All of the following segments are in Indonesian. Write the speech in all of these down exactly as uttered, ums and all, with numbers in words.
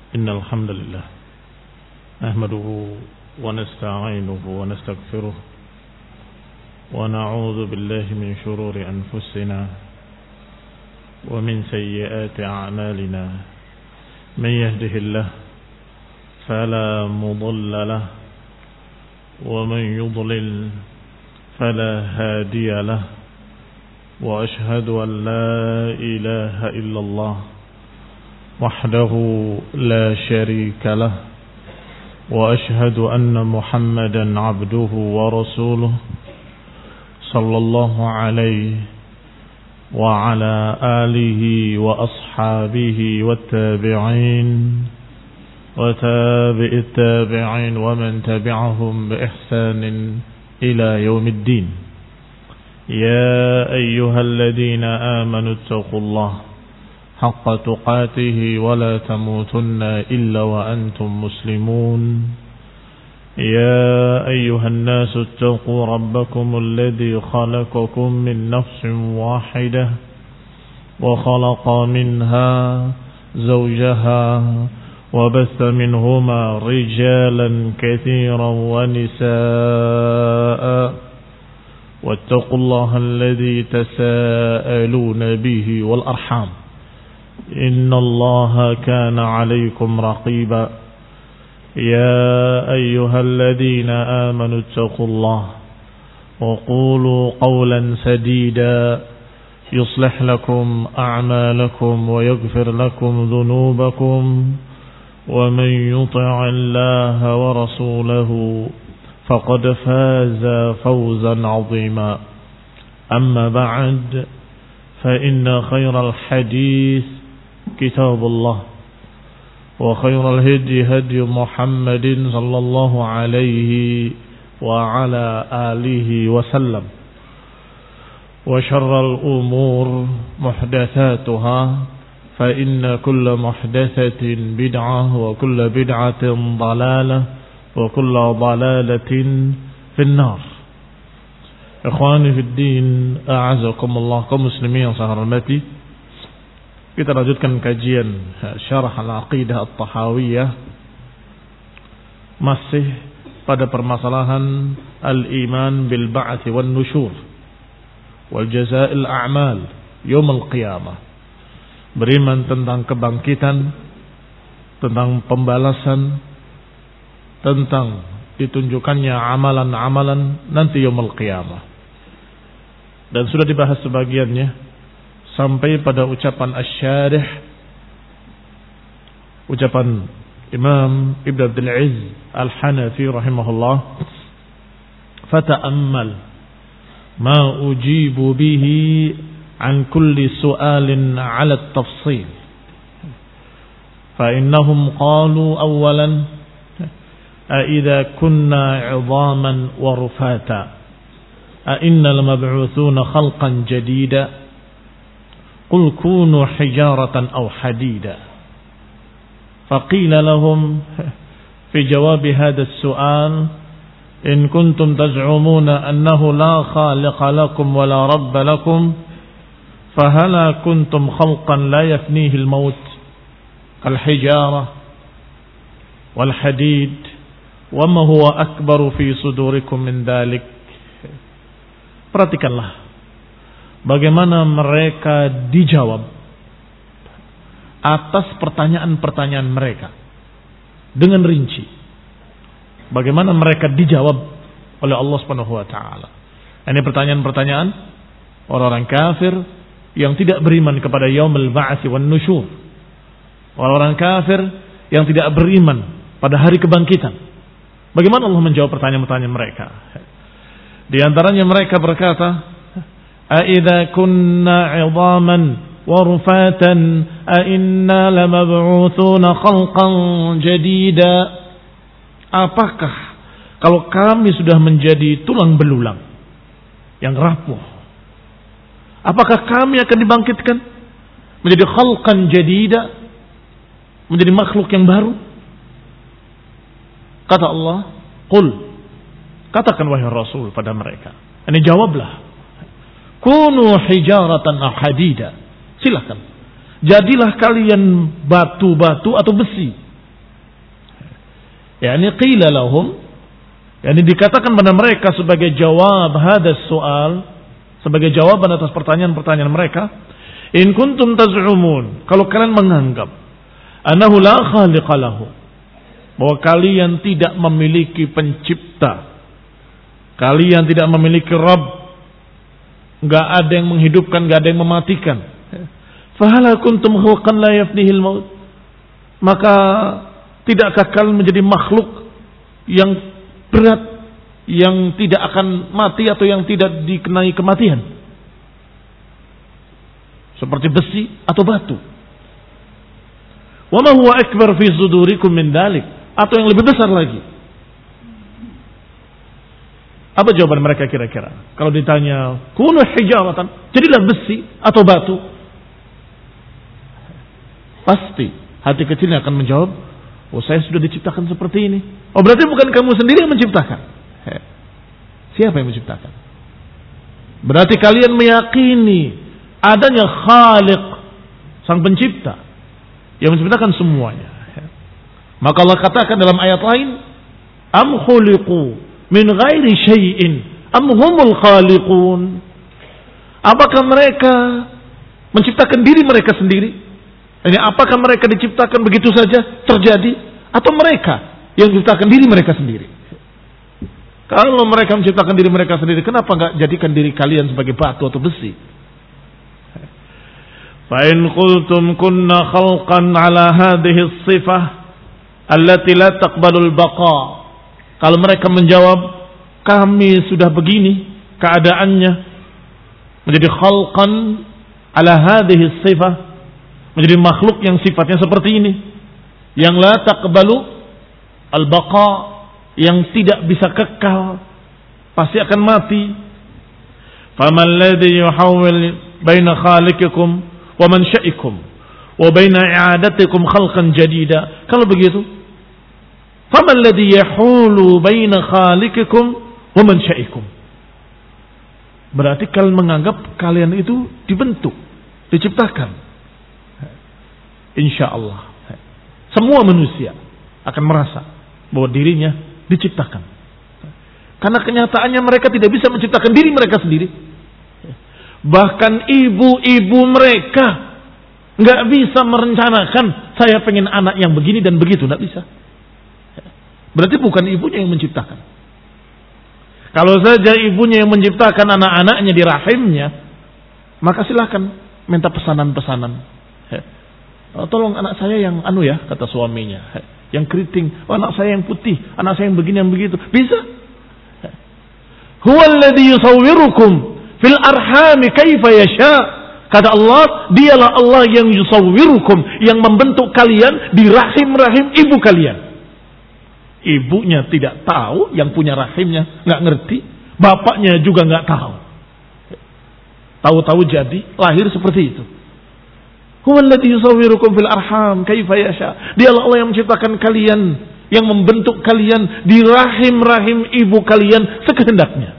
إن الحمد لله نحمده ونستعينه ونستغفره ونعوذ بالله من شرور أنفسنا ومن سيئات أعمالنا من يهده الله فلا مضل له ومن يضلل فلا هادي له وأشهد أن لا إله إلا الله وحده لا شريك له وأشهد أن محمدا عبده ورسوله صلى الله عليه وعلى آله وأصحابه والتابعين وتابع التابعين ومن تبعهم بإحسان إلى يوم الدين. يا أيها الذين آمنوا اتقوا الله حق تقاته ولا تموتن إلا وأنتم مسلمون. يا أيها الناس اتقوا ربكم الذي خلقكم من نفس واحدة وخلق منها زوجها وبث منهما رجالا كثيرا ونساء واتقوا الله الذي تساءلون به والأرحام إن الله كان عليكم رقيبا. يا أيها الذين آمنوا اتقوا الله وقولوا قولا سديدا يصلح لكم أعمالكم ويغفر لكم ذنوبكم ومن يطع الله ورسوله فقد فاز فوزا عظيما. أما بعد فإن خير الحديث كتاب الله وخير الهدي هدي محمد صلى الله عليه وعلى آله وسلم وشر الأمور محدثاتها فإن كل محدثة بدعة وكل بدعة ضلالة وكل ضلالة في النار. Ikhwani fi din, a'azakumullah, kaum muslimin yang saya hormati. Kita lanjutkan kajian Syarah Al-Aqidah At-Tahawiyah, masih pada permasalahan al-iman bil ba'ts wan nusyur wal jazaa'il a'mal yaum al-qiyamah. Beriman tentang kebangkitan, tentang pembalasan, tentang ditunjukkannya amalan-amalan nanti yaumul qiyamah. Dan sudah dibahas sebagiannya sampai pada ucapan asy-syarih, ucapan Imam Ibn Abdul Aziz Al-Hanafi rahimahullah, fata'ammal ma ujibu bihi an kulli su'alin 'ala at-tafsil fa innahum qalu awwalan أَإِذَا كُنَّا عِظَامًا وَرُفَاتًا أَإِنَّا لَمَبْعُوثُونَ خَلْقًا جَدِيدًا قُلْ كُونُوا حِجَارَةً أَوْ حَدِيدًا فَقِيلَ لَهُمْ في جواب هذا السؤال إن كنتم تزعمون أنه لا خالق لكم ولا رب لكم فهلا كنتم خلقا لا يفنيه الموت كالحجارة والحديد وَمَا هُوَ أَكْبَرُ فِي صُدُورِكُمْ مِنْ ذَلِكَ. Perhatikanlah bagaimana mereka dijawab atas pertanyaan-pertanyaan mereka dengan rinci. Bagaimana mereka dijawab oleh Allah Subhanahu wa taala. Ini pertanyaan-pertanyaan orang-orang kafir yang tidak beriman kepada yaumul ba'ts wan nusyur. Orang-orang kafir yang tidak beriman pada hari kebangkitan. Bagaimana Allah menjawab pertanyaan-pertanyaan mereka? Di antaranya mereka berkata, "A'idza kunna 'idhaman wa rufatan a inna lamab'utsuna khalqan jadida?" Apakah kalau kami sudah menjadi tulang belulang yang rapuh, apakah kami akan dibangkitkan menjadi khalqan jadida, menjadi makhluk yang baru? Kata Allah, "Qul," katakan wahai Rasul pada mereka. Ini jawablah. "Kunu hijaratan aw hadida." Silakan. Jadilah kalian batu-batu atau besi Yani qila lahum, yani dikatakan pada mereka sebagai jawab hadas soal, sebagai jawaban atas pertanyaan-pertanyaan mereka, in kuntum taz'umun, kalau kalian menganggap annahu la khaliqa lahu, bahwa kalian tidak memiliki pencipta, kalian tidak memiliki Rabb, enggak ada yang menghidupkan, enggak ada yang mematikan, fahala kuntum khalqan la yafnihil maut, maka tidakkah kalian menjadi makhluk yang berat, yang tidak akan mati atau yang tidak dikenai kematian, seperti besi atau batu. Wa ma huwa akbar fi sudurikum min dalik, atau yang lebih besar lagi. Apa jawaban mereka kira-kira? Kalau ditanya, kunu hijaratan, jadilah besi atau batu. Pasti hati kecilnya akan menjawab, oh saya sudah diciptakan seperti ini. Oh berarti bukan kamu sendiri yang menciptakan. He. Siapa yang menciptakan? Berarti kalian meyakini adanya Khaliq, sang pencipta, yang menciptakan semuanya. He. Maka Allah katakan dalam ayat lain, am khuliqu min ghairi syai'in am humul khaliqun. Apakah mereka menciptakan diri mereka sendiri? Ini apakah mereka diciptakan begitu saja terjadi, atau mereka yang menciptakan diri mereka sendiri? Kalau mereka menciptakan diri mereka sendiri, kenapa enggak jadikan diri kalian sebagai batu atau besi? Fa in qultum kunna khalqan ala hadhihi as-sifah allati la taqbalul baqa. Kalau mereka menjawab, kami sudah begini keadaannya, menjadi khalqan ala hadhihi sifah, menjadi makhluk yang sifatnya seperti ini, yang la taqbalu al-baqa, yang tidak bisa kekal, pasti akan mati. Faman ladzi yuhawwil baina khaliqikum wa mansha'ikum wa baina i'adatikum khalqan jadida. Kalau begitu, faman ladzi yahulu baina khaliqikum wa mansha'ikum, berarti kalian menganggap kalian itu dibentuk, diciptakan. Insyaallah semua manusia akan merasa bahwa dirinya diciptakan, karena kenyataannya mereka tidak bisa menciptakan diri mereka sendiri. Bahkan ibu-ibu mereka nggak bisa merencanakan, saya pengen anak yang begini dan begitu, nggak bisa. Berarti bukan ibunya yang menciptakan. Kalau saja ibunya yang menciptakan anak-anaknya di rahimnya, maka silakan minta pesanan-pesanan. Tolong anak saya yang anu ya, kata suaminya, yang keriting. Oh, anak saya yang putih, anak saya yang begini yang begitu. Bisa. Huwallazi yusawwirukum fil arhami kaifa yasha. Kata Allah, dialah Allah yang yusawwirukum, yang membentuk kalian di rahim-rahim ibu kalian. Ibunya tidak tahu, yang punya rahimnya nggak ngerti, bapaknya juga nggak tahu. Tahu-tahu jadi lahir seperti itu. Huwallazi yusawwirukum fil arham kaifa yasha. Dialah Allah yang menciptakan kalian, yang membentuk kalian di rahim-rahim ibu kalian sekehendaknya.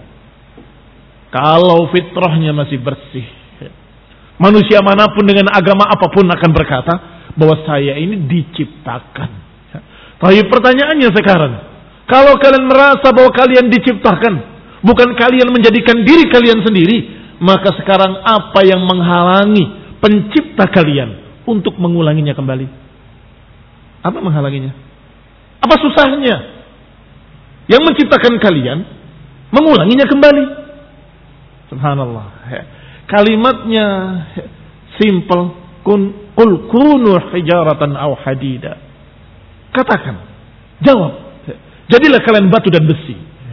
Kalau fitrahnya masih bersih, manusia manapun dengan agama apapun akan berkata bahwa saya ini diciptakan. Tapi pertanyaannya sekarang, kalau kalian merasa bahwa kalian diciptakan, bukan kalian menjadikan diri kalian sendiri, maka sekarang apa yang menghalangi pencipta kalian untuk mengulanginya kembali? Apa menghalanginya? Apa susahnya yang menciptakan kalian mengulanginya kembali? Subhanallah. Kalimatnya simple, kun qul kunu hijaratan aw hadida. Katakan, jawab, jadilah kalian batu dan besi.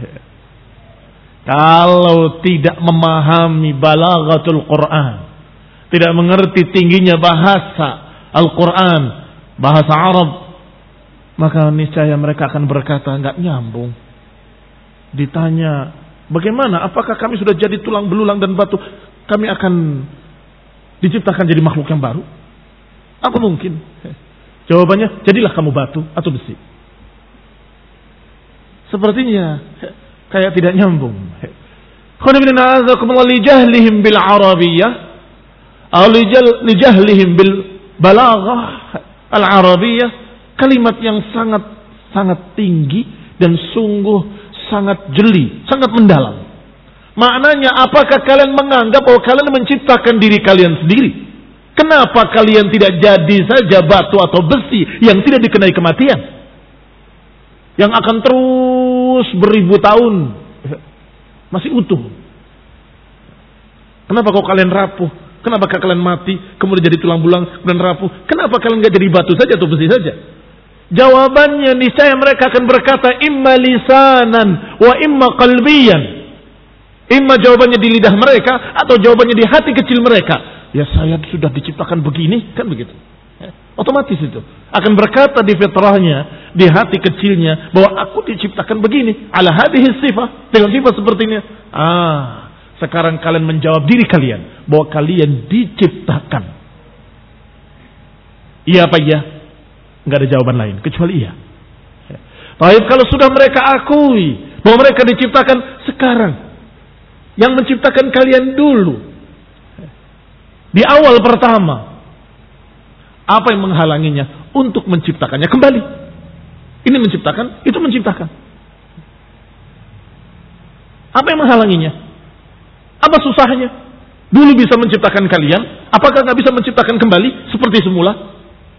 Kalau tidak memahami balaghatul Quran, tidak mengerti tingginya bahasa Al-Quran, bahasa Arab, maka niscaya mereka akan berkata, enggak nyambung. Ditanya, bagaimana? Apakah kami sudah jadi tulang belulang dan batu, kami akan diciptakan jadi makhluk yang baru? Apa mungkin? Jawabannya, jadilah kamu batu atau besi. Sepertinya kayak tidak nyambung. Li jahlihim bil arabiyyah atau li jahlihim bil balaghah al arabiyyah, kalimat yang sangat sangat tinggi dan sungguh sangat jeli, sangat mendalam. Maknanya, apakah kalian menganggap bahwa kalian menciptakan diri kalian sendiri? Kenapa kalian tidak jadi saja batu atau besi yang tidak dikenai kematian, yang akan terus beribu tahun masih utuh? Kenapa kok kalian rapuh? Kenapa kalian mati, kemudian jadi tulang belulang, kemudian rapuh? Kenapa kalian nggak jadi batu saja atau besi saja? Jawabannya, niscaya mereka akan berkata, imma lisanan wa imma qalbiyan. Imma jawabannya di lidah mereka atau jawabannya di hati kecil mereka. Ya, saya sudah diciptakan begini, kan begitu. Ya, otomatis itu akan berkata di fitrahnya, di hati kecilnya, bahwa aku diciptakan begini, ala hadhihi sifah, dengan sifat seperti ini. Ah, sekarang kalian menjawab diri kalian bahwa kalian diciptakan. Iya apa iya? Enggak ada jawaban lain kecuali iya. Baik, kalau sudah mereka akui bahwa mereka diciptakan, sekarang yang menciptakan kalian dulu di awal pertama, apa yang menghalanginya untuk menciptakannya kembali? Ini menciptakan, itu menciptakan. Apa yang menghalanginya? Apa susahnya? Dulu bisa menciptakan kalian, apakah nggak bisa menciptakan kembali seperti semula?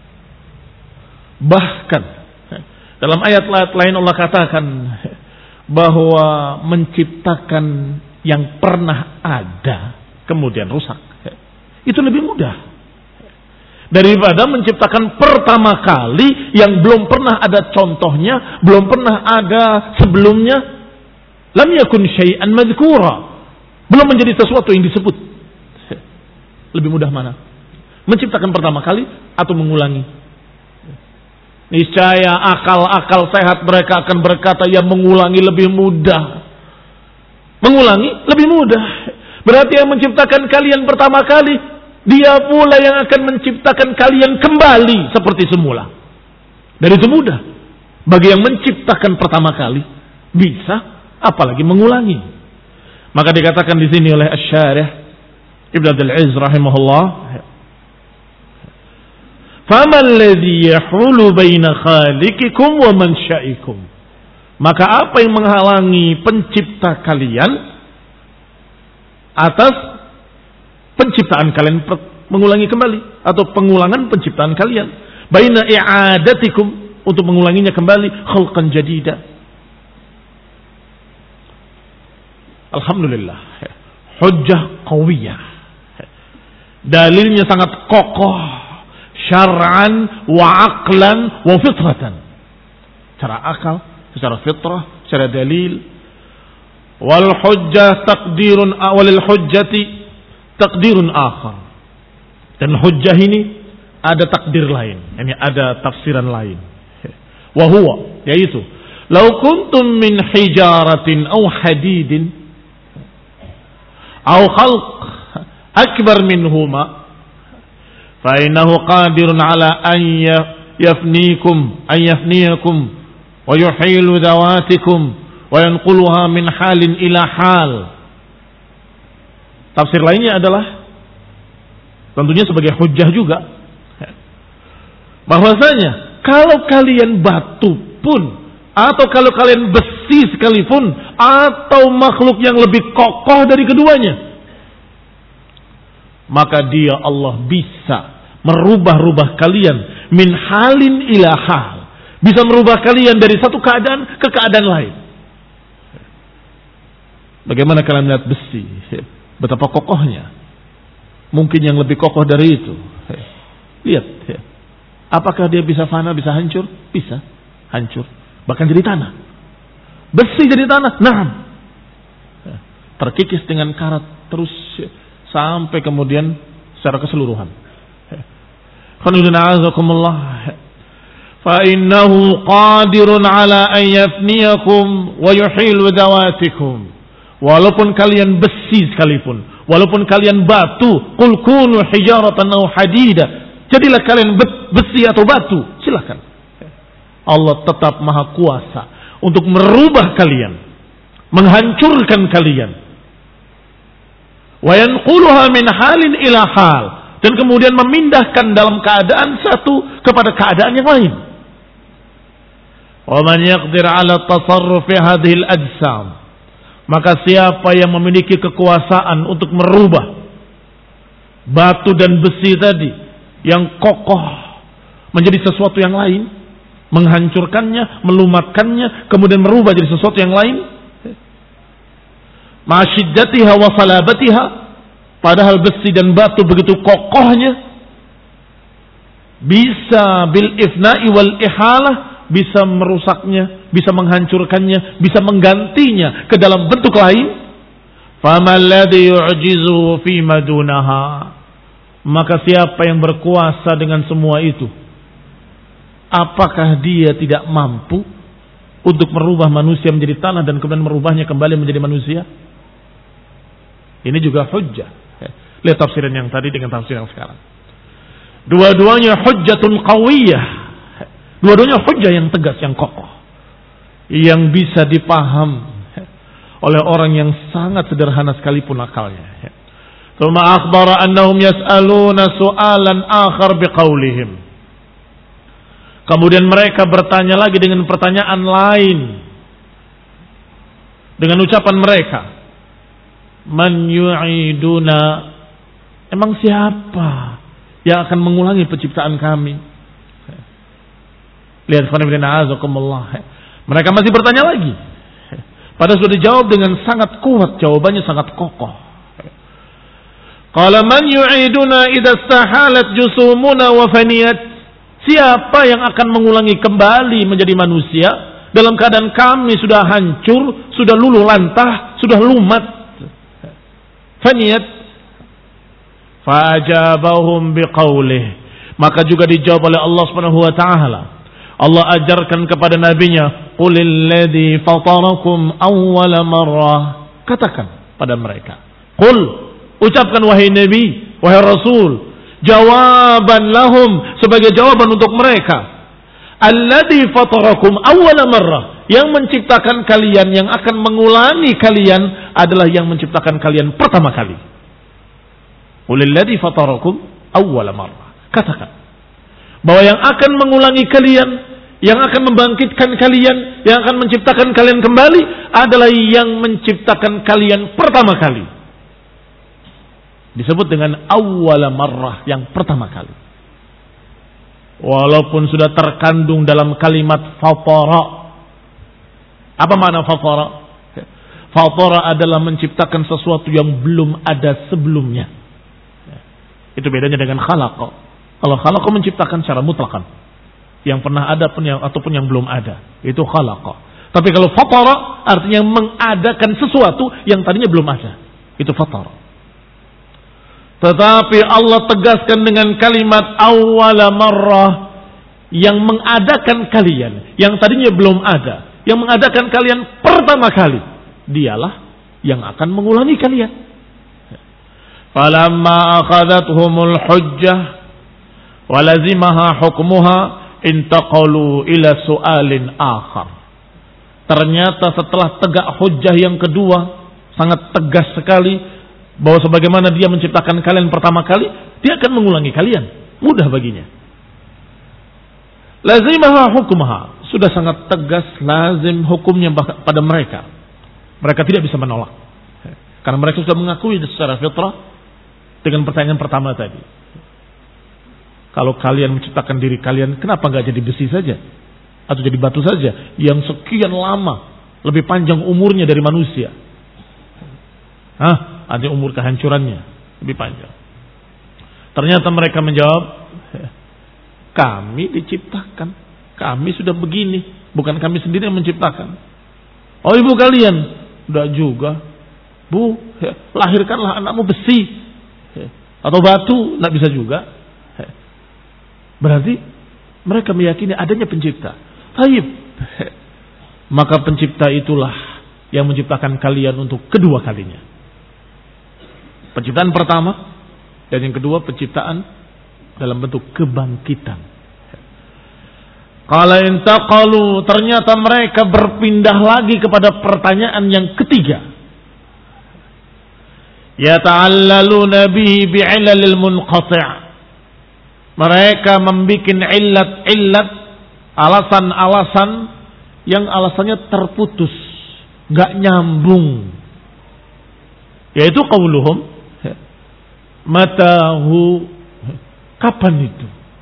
Bahkan dalam ayat-ayat lain Allah katakan bahwa menciptakan yang pernah ada kemudian rusak, itu lebih mudah daripada menciptakan pertama kali yang belum pernah ada contohnya, belum pernah ada sebelumnya. Lam yakun syai'an madhkura, belum menjadi sesuatu yang disebut. Lebih mudah mana? Menciptakan pertama kali atau mengulangi? Niscaya akal-akal sehat mereka akan berkata, ya mengulangi lebih mudah. Mengulangi lebih mudah. Berarti yang menciptakan kalian pertama kali, dia pula yang akan menciptakan kalian kembali seperti semula. Dan itu mudah bagi yang menciptakan pertama kali, bisa, apalagi mengulangi. Maka dikatakan di sini oleh Asy-Syarih Ibnu Abdul Aziz rahimahullah, "Faman alladhi yahulu baina khaliqikum wa mansha'ikum?" Maka apa yang menghalangi pencipta kalian atas penciptaan kalian, mengulangi kembali atau pengulangan penciptaan kalian? Baina i'adatikum, untuk mengulanginya kembali, khalqan jadida. Alhamdulillah, hujjah qawiyah, dalilnya sangat kokoh, syar'an wa aqlan wa fitratan, secara akal, secara fitrah, secara dalil. Wal hujjah taqdirun awalil hujjati taqdirun akhar, dan hujjah ini ada takdir lain, ini ada tafsiran lain. Wa huwa, yaitu law kuntum min hijaratin aw hadidin aw khalq akbar minhuma fa innahu qadirun ala an yafnikum an yafniyakum wa yuhilu dawatikum wa yanquluha min halin ila hal. Tafsir lainnya adalah tentunya sebagai hujjah juga, bahwasanya kalau kalian batu pun, atau kalau kalian besi sekalipun, atau makhluk yang lebih kokoh dari keduanya, maka dia Allah bisa merubah-rubah kalian min halin ila hal, bisa merubah kalian dari satu keadaan ke keadaan lain. Bagaimana kalian melihat besi, betapa kokohnya, mungkin yang lebih kokoh dari itu. Lihat, apakah dia bisa fana, bisa hancur? Bisa hancur, bahkan jadi tanah. Besi jadi tanah, nah, terkikis dengan karat terus sampai kemudian secara keseluruhan. Fa innahu qadirun ala an yafniyakum wa yuhilu dawatikum. Walaupun kalian besi sekalipun, walaupun kalian batu, qul kunu hijaratan aw hadida, jadilah kalian besi atau batu, silakan. Allah tetap maha kuasa untuk merubah kalian, menghancurkan kalian. Wa yanquluha min halin ila hal, dan kemudian memindahkan dalam keadaan satu kepada keadaan yang lain. Wa man yaqdir 'ala tasarruf fi hadhihi al-ajsam. Maka siapa yang memiliki kekuasaan untuk merubah batu dan besi tadi yang kokoh menjadi sesuatu yang lain, menghancurkannya, melumatkannya, kemudian merubah jadi sesuatu yang lain, ma'asyiddatiha wa salabatiha, padahal besi dan batu begitu kokohnya, bisa bil ifna'i wal ihalah, bisa merusaknya, bisa menghancurkannya, bisa menggantinya ke dalam bentuk lain. Faman ladzi yu'jizu fi madunaha. Maka siapa yang berkuasa dengan semua itu, apakah dia tidak mampu untuk merubah manusia menjadi tanah dan kemudian merubahnya kembali menjadi manusia? Ini juga hujjah. Lihat tafsiran yang tadi dengan tafsir yang sekarang. Dua-duanya hujjatun qawiyah. Dua-duanya hujjah yang tegas, yang kokoh, yang bisa dipaham oleh orang yang sangat sederhana sekalipun akalnya. Tsumma akhbara annahum yas'aluna su'alan akhar biqaulihim. Kemudian mereka bertanya lagi dengan pertanyaan lain, dengan ucapan mereka, man yu'iduna, emang siapa yang akan mengulangi penciptaan kami? Lihat, mereka masih bertanya lagi. Padahal sudah dijawab dengan sangat kuat, jawabannya sangat kokoh. Qala man yu'iduna idza istahalat jusumuna wa faniyat. Siapa yang akan mengulangi kembali menjadi manusia dalam keadaan kami sudah hancur, sudah luluh lantah, sudah lumat. Faniyat. Fajabahum biqaulih. Maka juga dijawab oleh Allah Subhanahu wa taala. Allah ajarkan kepada nabinya, qulil ladzi fatarakum awwala marrah. Katakan pada mereka, qul, ucapkan wahai nabi, wahai rasul, jawaban lahum, sebagai jawaban untuk mereka, alladzi fatarakum awwala marrah, yang menciptakan kalian, yang akan mengulangi kalian adalah yang menciptakan kalian pertama kali. Qulil ladzi fatarakum awwala marrah. Katakan bahwa yang akan mengulangi kalian, yang akan membangkitkan kalian, yang akan menciptakan kalian kembali adalah yang menciptakan kalian pertama kali. Disebut dengan awwala marrah, yang pertama kali. Walaupun sudah terkandung dalam kalimat fatara. Apa makna fatara? Fatara adalah menciptakan sesuatu yang belum ada sebelumnya. Itu bedanya dengan khalaqa. Kalau khalaqa menciptakan secara mutlakan, yang pernah ada pun yang ataupun yang belum ada, itu khalaqa. Tapi kalau fatara artinya mengadakan sesuatu yang tadinya belum ada, itu fatara. Tetapi Allah tegaskan dengan kalimat awwala marrah, yang mengadakan kalian yang tadinya belum ada, yang mengadakan kalian pertama kali, dialah yang akan mengulangi kalian. Falamma akhadathumul hujjah walazimaha hukmuha intaqalu ila su'alin akhar. Ternyata setelah tegak hujjah yang kedua, sangat tegas sekali, bahwa sebagaimana dia menciptakan kalian pertama kali, dia akan mengulangi kalian. Mudah baginya. Lazimaha hukmuha, sudah sangat tegas, lazim hukumnya pada mereka. Mereka tidak bisa menolak, karena mereka sudah mengakui secara fitrah dengan pertanyaan pertama tadi. Kalau kalian menciptakan diri kalian, kenapa nggak jadi besi saja? Atau jadi batu saja? Yang sekian lama, lebih panjang umurnya dari manusia. Hah? Ada umur kehancurannya lebih panjang. Ternyata mereka menjawab, kami diciptakan. Kami sudah begini. Bukan kami sendiri yang menciptakan. Oh, ibu kalian? Udah juga. Bu, lahirkanlah anakmu besi. Atau batu, nggak bisa juga. Berarti mereka meyakini adanya pencipta. Taib. Maka pencipta itulah yang menciptakan kalian untuk kedua kalinya. Penciptaan pertama dan yang kedua penciptaan dalam bentuk kebangkitan. Qala intaqalu, ternyata mereka berpindah lagi kepada pertanyaan yang ketiga. Yata'allaluna bihi bi'ilalil munqati'. Mereka membuat illat-illat, alasan-alasan yang alasannya terputus, nggak nyambung. Yaitu qauluhum matahu, kapan itu?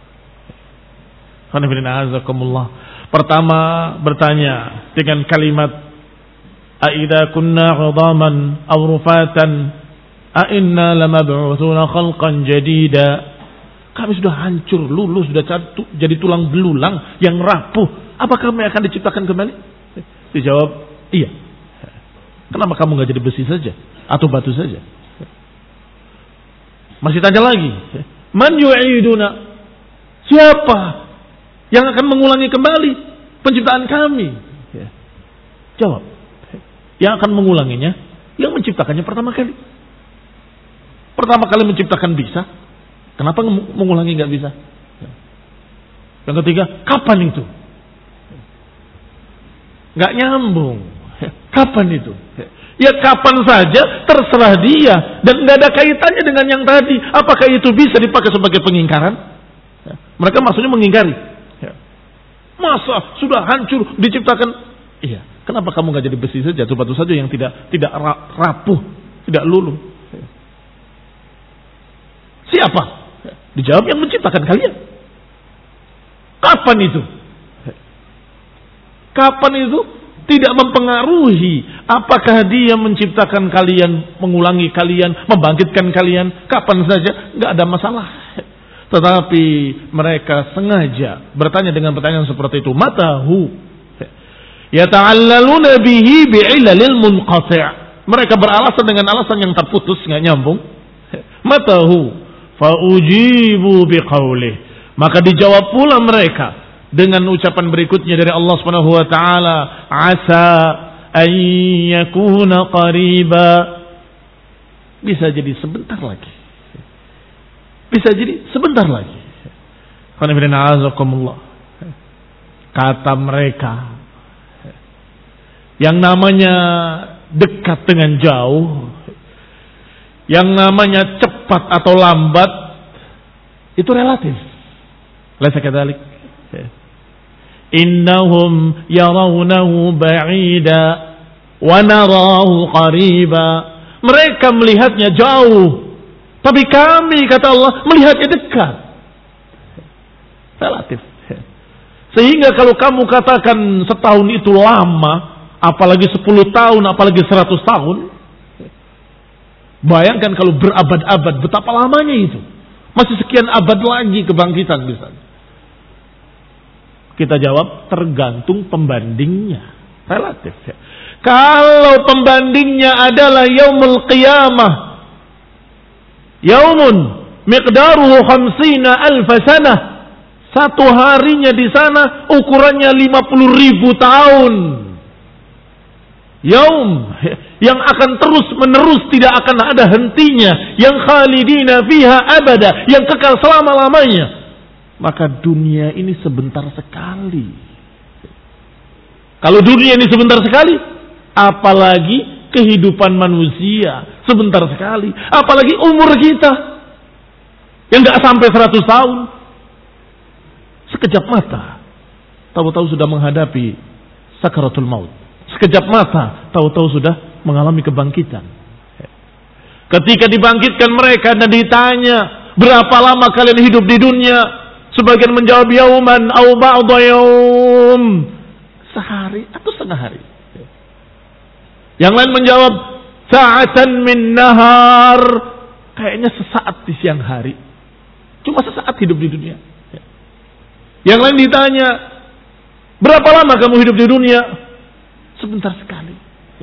Pertama bertanya dengan kalimat aidza kunna 'idhaman aw rufatan a inna lamab'utsuna khalqan jadida. Kami sudah hancur, luluh, sudah jadi tulang belulang yang rapuh. Apa kami akan diciptakan kembali? Dijawab, iya. Kenapa kamu nggak jadi besi saja atau batu saja? Masih tanya lagi, man yu'iduna? Siapa yang akan mengulangi kembali penciptaan kami? Jawab, yang akan mengulanginya, yang menciptakannya pertama kali. Pertama kali menciptakan bisa, kenapa mengulangi nggak bisa? Yang ketiga, kapan itu? Nggak nyambung. Kapan itu? Ya kapan saja, terserah dia, dan nggak ada kaitannya dengan yang tadi. Apakah itu bisa dipakai sebagai pengingkaran? Mereka maksudnya mengingkari. Masa sudah hancur diciptakan? Iya. Kenapa kamu nggak jadi besi saja, atau batu saja yang tidak tidak rapuh, tidak luluh? Siapa? Dijawab yang menciptakan kalian. Kapan itu? Kapan itu tidak mempengaruhi apakah dia menciptakan kalian, mengulangi kalian, membangkitkan kalian. Kapan saja, nggak ada masalah. Tetapi mereka sengaja bertanya dengan pertanyaan seperti itu. Matahu yata'allaluna bihi bi'ilalil munqati'. Mereka beralasan dengan alasan yang terputus, nggak nyambung. Matahu faujibu biqaulih. Maka dijawab pula mereka dengan ucapan berikutnya dari Allah Subhanahu wa taala, asa an yakuna qariba. Bisa jadi sebentar lagi. Bisa jadi sebentar lagi. Kata mereka, yang namanya dekat dengan jauh, yang namanya cepat atau lambat, itu relatif. Laisa kadzalik. Innahum yarawnahu ba'ida wa narahu qariba. Mereka melihatnya jauh, tapi kami, kata Allah, melihatnya dekat. Relatif. Sehingga kalau kamu katakan setahun itu lama, apalagi sepuluh tahun, apalagi seratus tahun, bayangkan kalau berabad-abad, betapa lamanya itu. Masih sekian abad lagi kebangkitan misalnya. Kita jawab, tergantung pembandingnya. Relatif. Ya. Kalau pembandingnya adalah yaumul qiyamah, yaumun miqdaruhu khamsina alfa sanah, satu harinya di sana ukurannya lima puluh ribu tahun. Yaum yang akan terus menerus, tidak akan ada hentinya, yang khalidina fiha abada, yang kekal selama-lamanya. Maka dunia ini sebentar sekali. Kalau dunia ini sebentar sekali, apalagi kehidupan manusia sebentar sekali, apalagi umur kita yang gak sampai seratus tahun. Sekejap mata, tahu-tahu sudah menghadapi sakaratul maut. Sekejap mata, tahu-tahu sudah mengalami kebangkitan. Ketika dibangkitkan mereka dan ditanya, berapa lama kalian hidup di dunia? Sebagian menjawab yauman au ba'da yaum, sehari atau setengah hari. Yang lain menjawab sa'atan min nahar, kayaknya sesaat di siang hari. Cuma sesaat hidup di dunia. Yang lain ditanya, berapa lama kamu hidup di dunia? Sebentar sekali.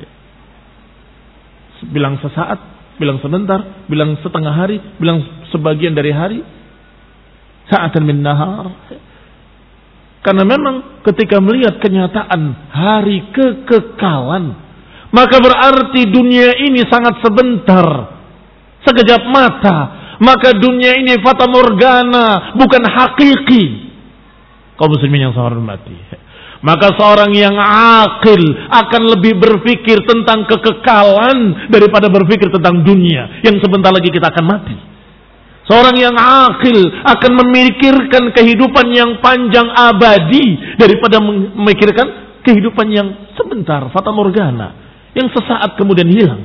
Bilang sesaat, bilang sebentar, bilang setengah hari, bilang sebagian dari hari. Sa'atan min nahar. Karena memang ketika melihat kenyataan hari kekekalan, maka berarti dunia ini sangat sebentar, sekejap mata. Maka dunia ini fata morgana, bukan hakiki. Kaum muslimin yang saya hormati, maka seorang yang akil akan lebih berpikir tentang kekekalan daripada berpikir tentang dunia yang sebentar lagi kita akan mati. Seorang yang akil akan memikirkan kehidupan yang panjang abadi daripada memikirkan kehidupan yang sebentar, fata morgana, yang sesaat kemudian hilang.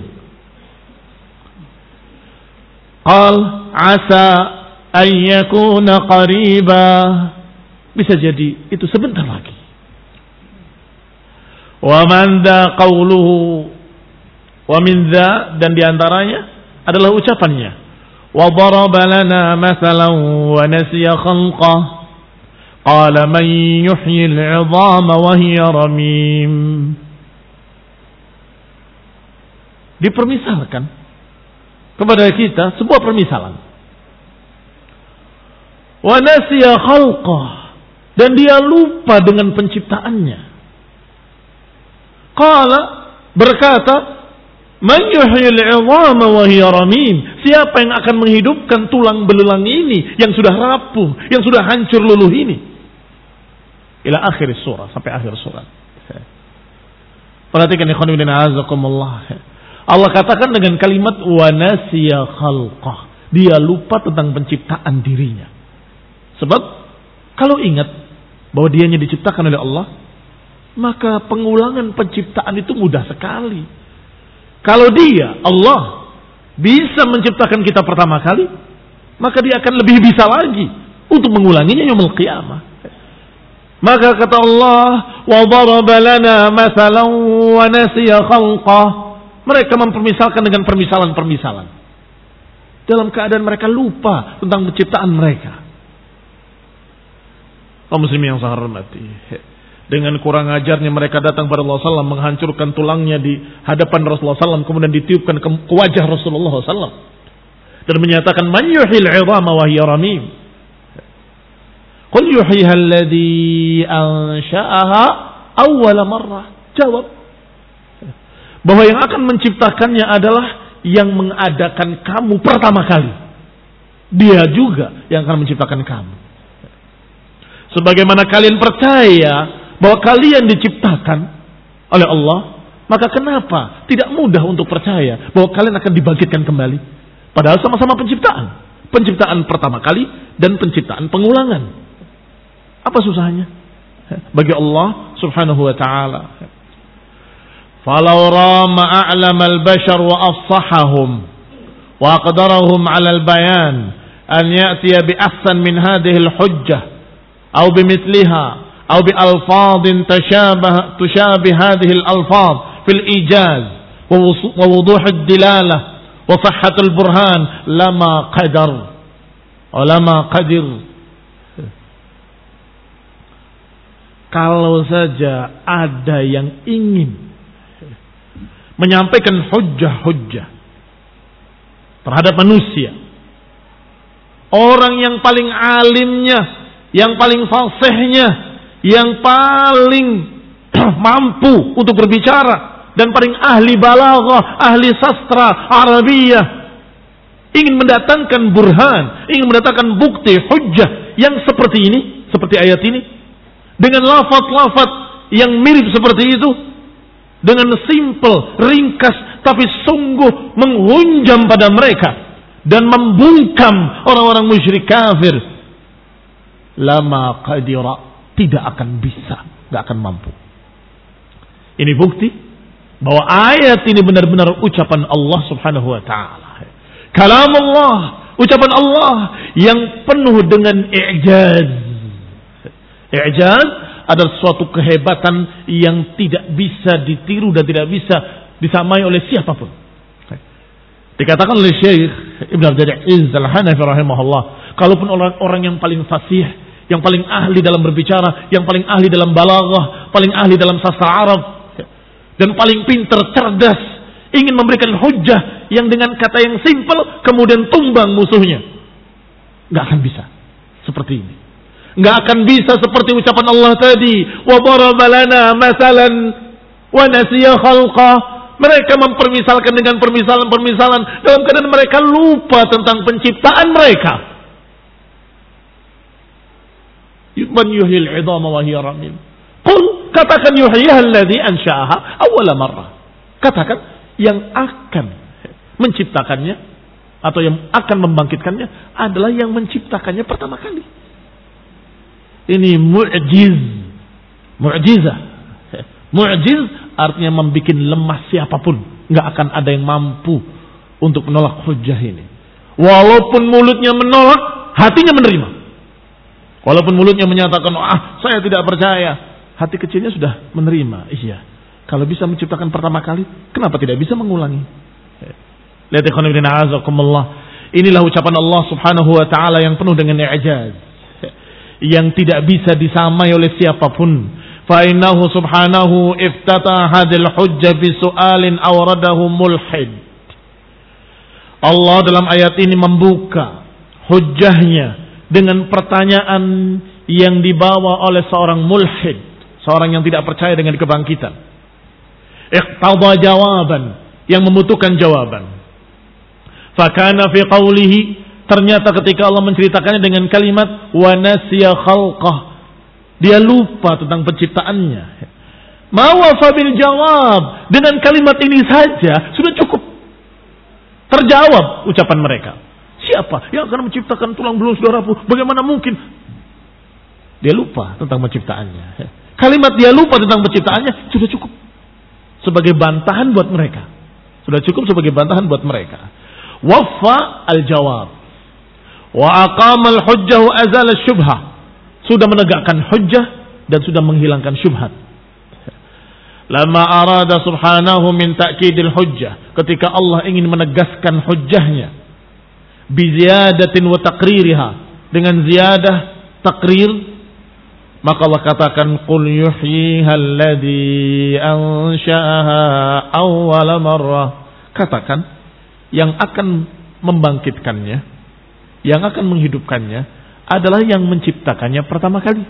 Qal asa an yakuna qariba, bisa jadi itu sebentar lagi. Wa man dha qawluhu, wa min dha, dan diantaranya adalah ucapannya, wa daraba lana mathalan wa nasiya khalqah qala man yuhyi al-'idhama wa hiya ramim. Dipermisalkan kepada kita sebuah permisalan. Wa nasiya khalqah, dan dia lupa dengan penciptaannya. Qala, berkata, man yuhyil 'idhama wa hiya ramim, siapa yang akan menghidupkan tulang belulang ini yang sudah rapuh, yang sudah hancur luluh ini. Ila akhir surah, sampai akhir surat. Perhatikan ikhwan fillah azakumullah. Allah katakan dengan kalimat wa nasiya khalqah, dia lupa tentang penciptaan dirinya. Sebab kalau ingat bahwa dianya diciptakan oleh Allah, maka pengulangan penciptaan itu mudah sekali. Kalau dia, Allah, bisa menciptakan kita pertama kali, maka dia akan lebih bisa lagi untuk mengulanginya yaumul qiyamah. Maka kata Allah, wa daraba lana mathalan wa nasiya khalqah, mereka mempermisalkan dengan permisalan-permisalan dalam keadaan mereka lupa tentang penciptaan mereka. Kaum muslimin yang saya hormati, dengan kurang ajarnya mereka datang pada Rasulullah sallallahu alaihi wasallam, menghancurkan tulangnya di hadapan Rasulullah sallallahu alaihi wasallam, kemudian ditiupkan ke wajah Rasulullah sallallahu alaihi wasallam dan menyatakan man yuhyil 'idhama wa hiya ramim. Qul yuhyiha alladhi ansha'aha awwala marrah. Jawab bahwa yang akan menciptakannya adalah yang mengadakan kamu pertama kali. Dia juga yang akan menciptakan kamu. Sebagaimana kalian percaya bahwa kalian diciptakan oleh Allah, maka kenapa tidak mudah untuk percaya bahwa kalian akan dibangkitkan kembali? Padahal sama-sama penciptaan. Penciptaan pertama kali dan penciptaan pengulangan. Apa susahnya? Bagi Allah subhanahu wa ta'ala. Falau rama a'lam al-bashar wa afsahahum wa aqdarahum 'ala al-bayan an ya'tiya bi ahsan min hadhihi al-hujjah aw bimithliha aw bi alfadhin tashabah tushabih hadhihi al-alfadh fil ijaz wa wuduh ad-dilalah wa sihhat al-burhan lama qadar wa lama qadir. Kalau saja ada yang ingin menyampaikan hujjah-hujjah terhadap manusia, orang yang paling alimnya, yang paling fasihnya, yang paling mampu untuk berbicara dan paling ahli balaghah, ahli sastra Arabiyah, ingin mendatangkan burhan, ingin mendatangkan bukti hujjah yang seperti ini, seperti ayat ini, dengan lafaz-lafaz yang mirip seperti itu, dengan simple, ringkas, tapi sungguh menghunjam pada mereka dan membungkam orang-orang musyrik kafir, lama qadira, tidak akan bisa, tidak akan mampu. Ini bukti bahwa ayat ini benar-benar ucapan Allah subhanahu wa ta'ala. Kalam Allah, ucapan Allah yang penuh dengan i'jaz. I'jaz adalah suatu kehebatan yang tidak bisa ditiru dan tidak bisa disamai oleh siapapun. Dikatakan oleh Syekh Ibn Abdul Aziz Al-Hanafi rahimahullah, kalaupun orang-orang yang paling fasih, yang paling ahli dalam berbicara, yang paling ahli dalam balaghah, paling ahli dalam sastra Arab, dan paling pintar, cerdas, ingin memberikan hujjah yang dengan kata yang simpel kemudian tumbang musuhnya, nggak akan bisa seperti ini. Nggak akan bisa seperti ucapan Allah tadi, wa daraba lana masalan wa nasiya khalqah. Mereka mempermisalkan dengan permisalan-permisalan dalam keadaan mereka lupa tentang penciptaan mereka. Man yuhyil 'idhama wa hiya ramim. Qul, katakan yuhyiha alladhi ansha'aha awwala marrah. Katakan yang akan menciptakannya atau yang akan membangkitkannya adalah yang menciptakannya pertama kali. Ini mu'jiz, mu'jizah. Mu'jiz artinya membuat lemah siapapun. Nggak akan ada yang mampu untuk menolak hujjah ini. Walaupun mulutnya menolak, hatinya menerima. Walaupun mulutnya menyatakan, ah saya tidak percaya, hati kecilnya sudah menerima. Iya, kalau bisa menciptakan pertama kali, kenapa tidak bisa mengulangi? Lihat ikhwan fillah azakumullah. Inilah ucapan Allah Subhanahu wa taala yang penuh dengan i'jaz, yang tidak bisa disamai oleh siapapun. Fa innahu subhanahu iftataha hadhil hujjah bi su'alin awradahu mulhid. Allah dalam ayat ini membuka hujjahnya dengan pertanyaan yang dibawa oleh seorang mulhid, seorang yang tidak percaya dengan kebangkitan. Iqtada jawaban, yang membutuhkan jawaban. Fakana fi qawlihi, ternyata ketika Allah menceritakannya dengan kalimat wa nasiya khalqah, dia lupa tentang penciptaannya. Ma wafa bil jawab, dengan kalimat ini saja sudah cukup terjawab ucapan mereka. Siapa yang akan menciptakan tulang belulang saudaraku? Bagaimana mungkin? Dia lupa tentang penciptaannya. Kalimat dia lupa tentang penciptaannya sudah cukup sebagai bantahan buat mereka. Sudah cukup sebagai bantahan buat mereka. Waffa al-jawab wa aqama al-hujjah wa azala syubhah. Sudah menegakkan hujjah dan sudah menghilangkan syubhat. Lama arada subhanahu min ta'kidil hujjah, ketika Allah ingin menegaskan hujjahnya bi ziyadatin wa taqririha, dengan ziyadah takrir, maka Allah katakan qul yuhyiha alladhi ansha'aha awwala marrah. Katakan, yang akan membangkitkannya, yang akan menghidupkannya adalah yang menciptakannya pertama kali.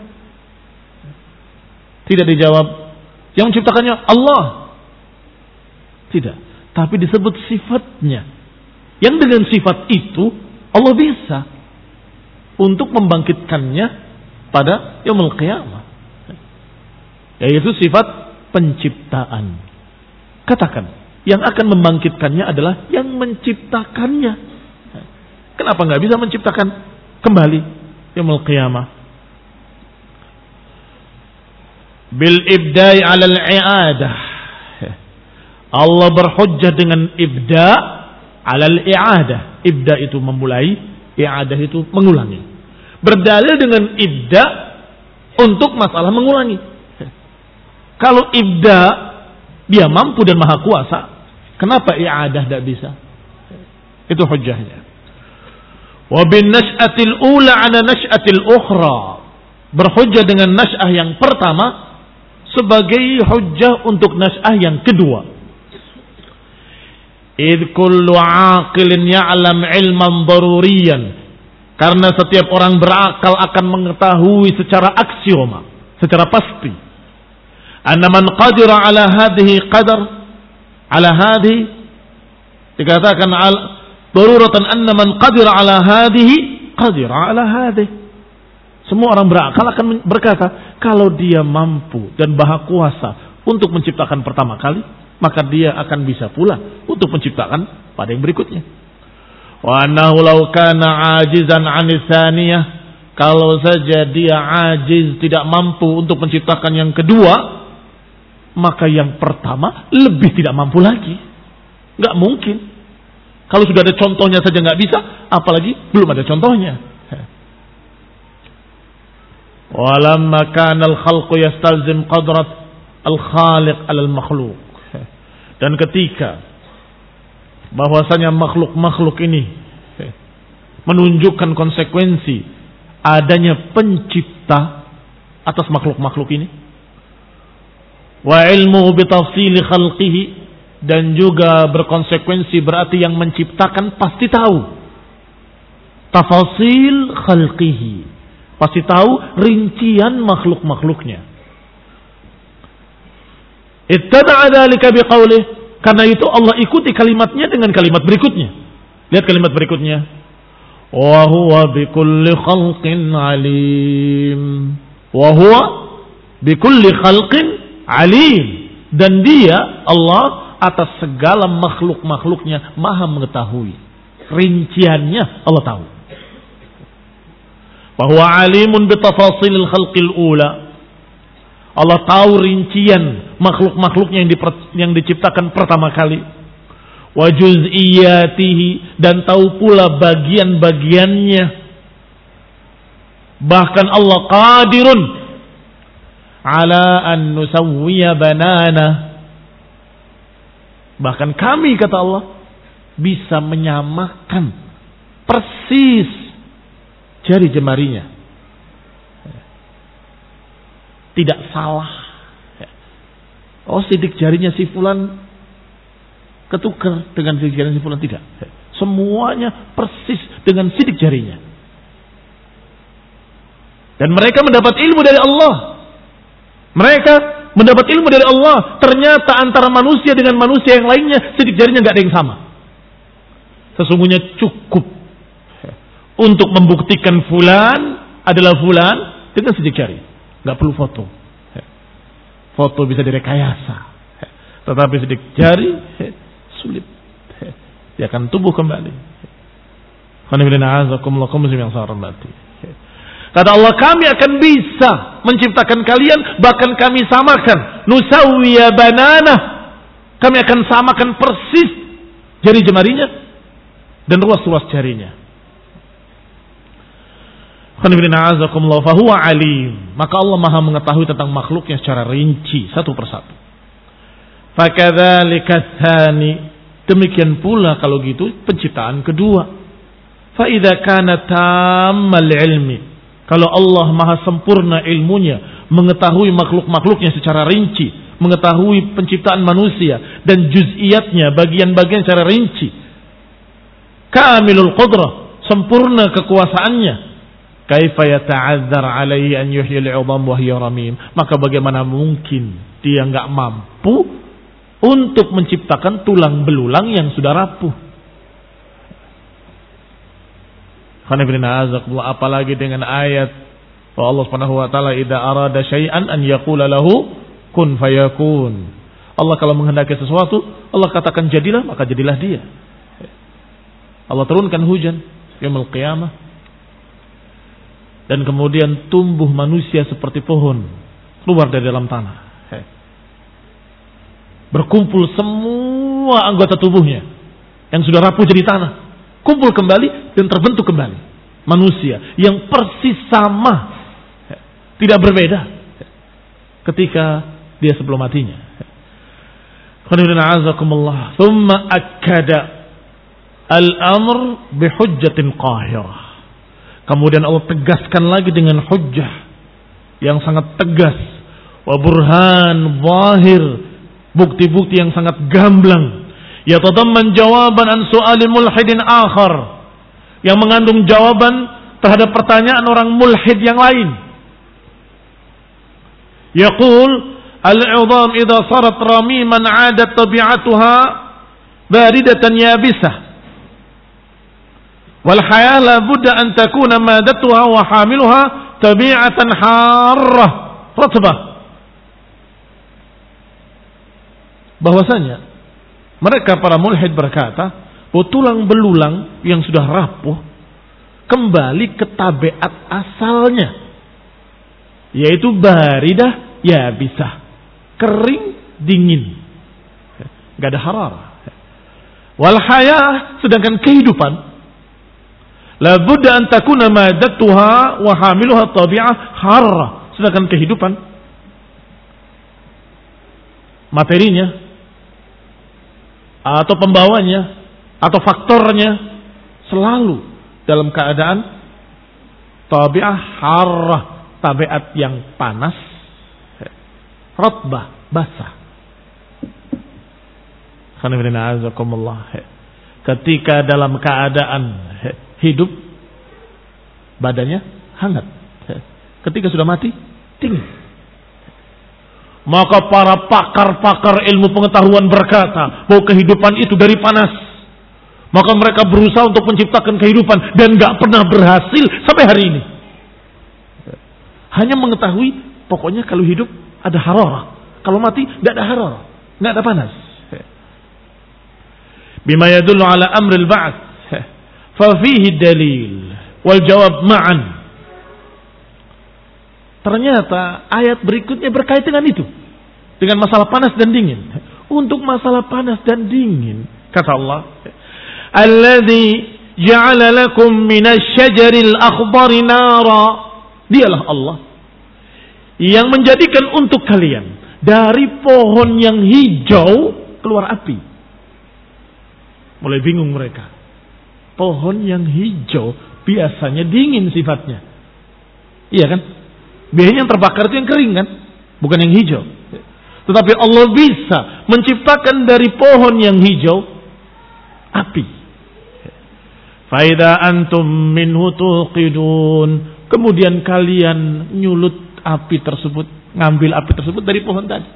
Tidak dijawab yang menciptakannya Allah, tidak, tapi disebut sifatnya, yang dengan sifat itu Allah bisa untuk membangkitkannya pada yaumul qiyamah, yaitu sifat penciptaan. Katakan, yang akan membangkitkannya adalah yang menciptakannya. Kenapa nggak bisa menciptakan kembali yaumul qiyamah? Bil ibda'i 'ala al-i'adah. Allah berhujjah dengan ibda' 'ala al-i'adah. Ibda' itu memulai, i'adah itu mengulangi. Berdalil dengan ibda' untuk masalah mengulangi. Kalau ibda' dia mampu dan maha kuasa, kenapa i'adah tidak bisa? Itu hujjahnya. Wa bin nash'atil ula 'ala nash'atil ukhra. Berhujjah dengan nash'ah yang pertama sebagai hujjah untuk nash'ah yang kedua. Idh kullu 'aqilin ya'lam 'ilman daruriyan. Karena setiap orang berakal akan mengetahui secara aksioma, secara pasti, anna man qadira 'ala hadhihi qadar 'ala hadhihi, dikatakan al daruratan anna man qadira 'ala hadhihi qadira 'ala hadhihi. Semua orang berakal akan berkata, kalau dia mampu dan maha kuasa untuk menciptakan pertama kali, maka dia akan bisa pula untuk menciptakan pada yang berikutnya. Wa annahu law kana 'ajizan 'ani tsaniyah, kalau saja dia ajiz, tidak mampu untuk menciptakan yang kedua, maka yang pertama lebih tidak mampu lagi. Enggak mungkin. Kalau sudah ada contohnya saja enggak bisa, apalagi belum ada contohnya. Walamma kana al-khalqu yastalzim qadrat al-khaliq 'ala al-makhluq. Dan ketika bahwasanya makhluk-makhluk ini menunjukkan konsekuensi adanya pencipta atas makhluk-makhluk ini, wa ilmuhu bi tafsili khalqihi, dan juga berkonsekuensi berarti yang menciptakan pasti tahu tafasil khalqihi, pasti tahu rincian makhluk-makhluknya. Ittaba'a dzalika biqaulih, karena itu Allah ikuti kalimatnya dengan kalimat berikutnya. Lihat kalimat berikutnya. Wa huwa bikulli khalqin alim. Wa huwa bikulli khalqin alim. Dan dia, Allah, atas segala makhluk-makhluknya maha mengetahui. Rinciannya Allah tahu. Bahwa alimun bitafasilil khalqil ula. Allah tahu rincian makhluk-makhluknya yang, yang diciptakan pertama kali. Wa juz'iyatihi, dan tahu pula bagian-bagiannya. Bahkan Allah qadirun ala an nusawwiya banana. Bahkan kami, kata Allah, bisa menyamakan persis jari jemarinya. Tidak salah. Oh, sidik jarinya si fulan ketukar dengan sidik jarinya si fulan, tidak. Semuanya persis dengan sidik jarinya. Dan mereka mendapat ilmu dari Allah. Mereka mendapat ilmu dari Allah. Ternyata antara manusia dengan manusia yang lainnya sidik jarinya nggak ada yang sama. Sesungguhnya cukup untuk membuktikan fulan adalah fulan dengan sidik jari. Nggak perlu foto. Foto bisa direkayasa. Tetapi sidik jari sulit. Dia akan tumbuh kembali. Kata Allah, kami akan bisa menciptakan kalian, bahkan kami samakan. Nusawwiya banana. Kami akan samakan persis jari jemarinya dan ruas-ruas jarinya. Fahuwa alim. Maka Allah maha mengetahui tentang makhluknya secara rinci, satu persatu. Fakadzalika tsani. Demikian pula kalau gitu penciptaan kedua. Fa idza kana tammal ilmi. Kalau Allah maha sempurna ilmunya, mengetahui makhluk-makhluknya secara rinci, mengetahui penciptaan manusia dan juz'iyatnya, bagian-bagian secara rinci. Kamilul qudrah, sempurna kekuasaannya. Kaifa yata'adzar alaihi an yuhyil 'idham wa hiya ramim. Maka bagaimana mungkin dia enggak mampu untuk menciptakan tulang belulang yang sudah rapuh. Apalagi dengan ayat bahwa Allah Subhanahu wa taala idza arada syai'an an yaqula lahu kun fayakun. Allah kalau menghendaki sesuatu, Allah katakan jadilah, maka jadilah dia. Allah turunkan hujan yaumul qiyamah. Dan kemudian tumbuh manusia seperti pohon keluar dari dalam tanah. Berkumpul semua anggota tubuhnya yang sudah rapuh jadi tanah, kumpul kembali dan terbentuk kembali manusia yang persis sama, tidak berbeda ketika dia sebelum matinya. Thumma akkada al-amr bihujjatin qahirah. Kemudian Allah tegaskan lagi dengan hujjah yang sangat tegas, wa burhan zahir, bukti-bukti yang sangat gamblang, yatadamman jawaban an su'alin mulhidin akhar, yang mengandung jawaban terhadap pertanyaan orang mulhid yang lain. Yaqul al-'idham idza sarat ramiman 'adat tabi'atuha baridatan yabisah. Wal hayah la budda an takuna madatuha wa hamiluha tabi'atan harrah ratbah. Bahwasanya mereka para mulhid berkata bahwa tulang belulang yang sudah rapuh kembali ke tabiat asalnya, yaitu baridah ya bisa kering dingin, gak ada hararah. Wal hayah, sedangkan kehidupan la budda an takuna madatuha wa hamiluha tabi'ah harra, sedangkan kehidupan materinya atau pembawanya atau faktornya selalu dalam keadaan tabi'ah harra, tabiat yang panas, ratbah, basah. Ketika dalam keadaan hidup badannya hangat, ketika sudah mati dingin. Maka para pakar-pakar ilmu pengetahuan berkata bahwa kehidupan itu dari panas. Maka mereka berusaha untuk menciptakan kehidupan dan gak pernah berhasil sampai hari ini. Hanya mengetahui pokoknya kalau hidup ada hararah, kalau mati gak ada hararah, gak ada panas. Bima yadullu ala amril ba'ats fa fihi dalil wal jawab ma'an. Ternyata ayat berikutnya berkait dengan itu. Dengan masalah panas dan dingin. Untuk masalah panas dan dingin, kata Allah, Alladzi ja'ala lakum minasyajaril akhdari nara. Dialah Allah yang menjadikan untuk kalian dari pohon yang hijau keluar api. Mulai bingung mereka. Pohon yang hijau biasanya dingin sifatnya. Iya kan? Biasanya yang terbakar itu yang kering kan? Bukan yang hijau. Tetapi Allah bisa menciptakan dari pohon yang hijau api. Faida antum minhu tuqidun. Kemudian kalian nyulut api tersebut, ngambil api tersebut dari pohon tadi.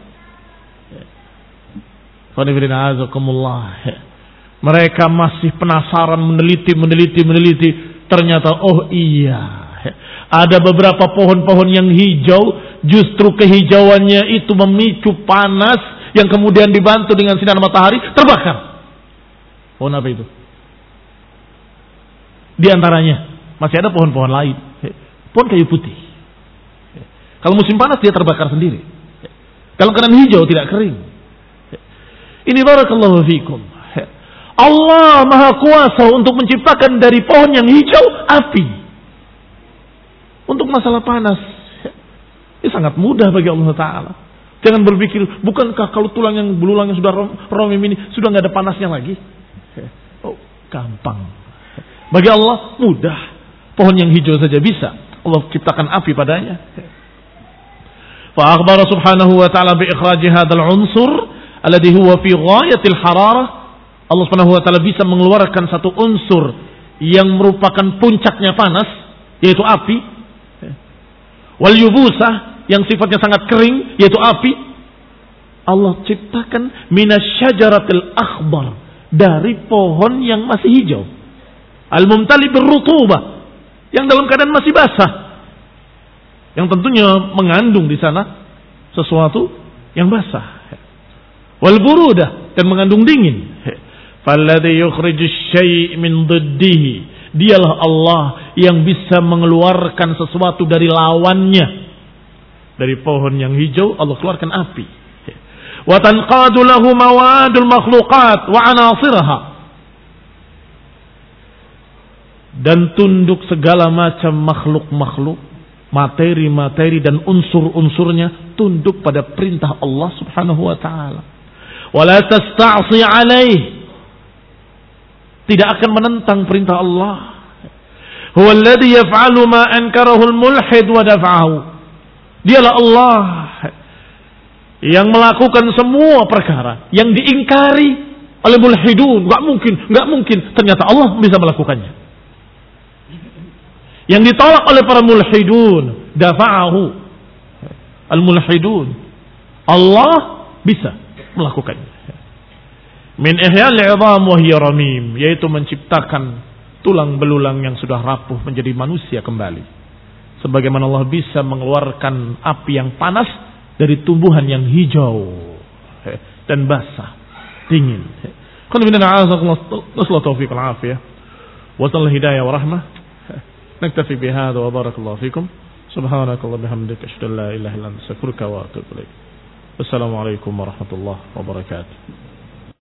Mereka masih penasaran, meneliti, meneliti, meneliti. Ternyata oh iya, ada beberapa pohon-pohon yang hijau, justru kehijauannya itu memicu panas yang kemudian dibantu dengan sinar matahari terbakar. Pohon apa itu? Di antaranya masih ada pohon-pohon lain. Pohon kayu putih. Kalau musim panas dia terbakar sendiri. Kalau keadaan hijau tidak kering. Ini barakallahu fikum. Allah Maha Kuasa untuk menciptakan dari pohon yang hijau api. Untuk masalah panas, ini sangat mudah bagi Allah Ta'ala. Jangan berpikir, bukankah kalau tulang yang belulang yang sudah romim ini sudah nggak ada panasnya lagi? Oh, gampang. Bagi Allah mudah. Pohon yang hijau saja bisa Allah ciptakan api padanya. Fa akhbara subhanahu wa ta'ala bi ikhraji hadzal unsur alladhi huwa fi ghayatil hararah. Allah subhanahu wa ta'ala bisa mengeluarkan satu unsur yang merupakan puncaknya panas, yaitu api. Wal yubusah, yang sifatnya sangat kering, yaitu api. Allah ciptakan minasyajaratil akhbar, dari pohon yang masih hijau. Al-mumtali birrutubah, yang dalam keadaan masih basah. Yang tentunya mengandung di sana sesuatu yang basah. Wal burudah, dan mengandung dingin. Falladhi yukhrijus syai' min dhiddihi. Dialah Allah yang bisa mengeluarkan sesuatu dari lawannya. Dari pohon yang hijau Allah keluarkan api. Wa tanqadu lahu mawadul makhluqat wa anasirha. Dan tunduk segala macam makhluk-makhluk, materi-materi dan unsur-unsurnya tunduk pada perintah Allah Subhanahu wa taala. Wa la tasta'si 'alaihi. Tidak akan menentang perintah Allah. Huwa alladhi yaf'alu ma ankarahu al-mulhid wa daf'ahu. Dialah Allah yang melakukan semua perkara yang diingkari oleh mulhidun. Enggak mungkin, enggak mungkin. Ternyata Allah bisa melakukannya. Yang ditolak oleh para mulhidun, dafa'ahu. Al-mulhidun. Allah bisa melakukannya. Min ihya'il 'idham wa hiya ramim, yaitu menciptakan tulang belulang yang sudah rapuh menjadi manusia kembali. Sebagaimana Allah bisa mengeluarkan api yang panas dari tumbuhan yang hijau dan basah, dingin. Qul inna a'udzu taufiq al-afiyah wa tal hidayah wa rahmah. Naktafi bihadza wa barakallahu fikum. Subhanakallahumma bihamdika asyhadu an la ilaha illa anta astaghfiruka wa atubu ilaik. Wassalamu alaikum warahmatullahi wabarakatuh.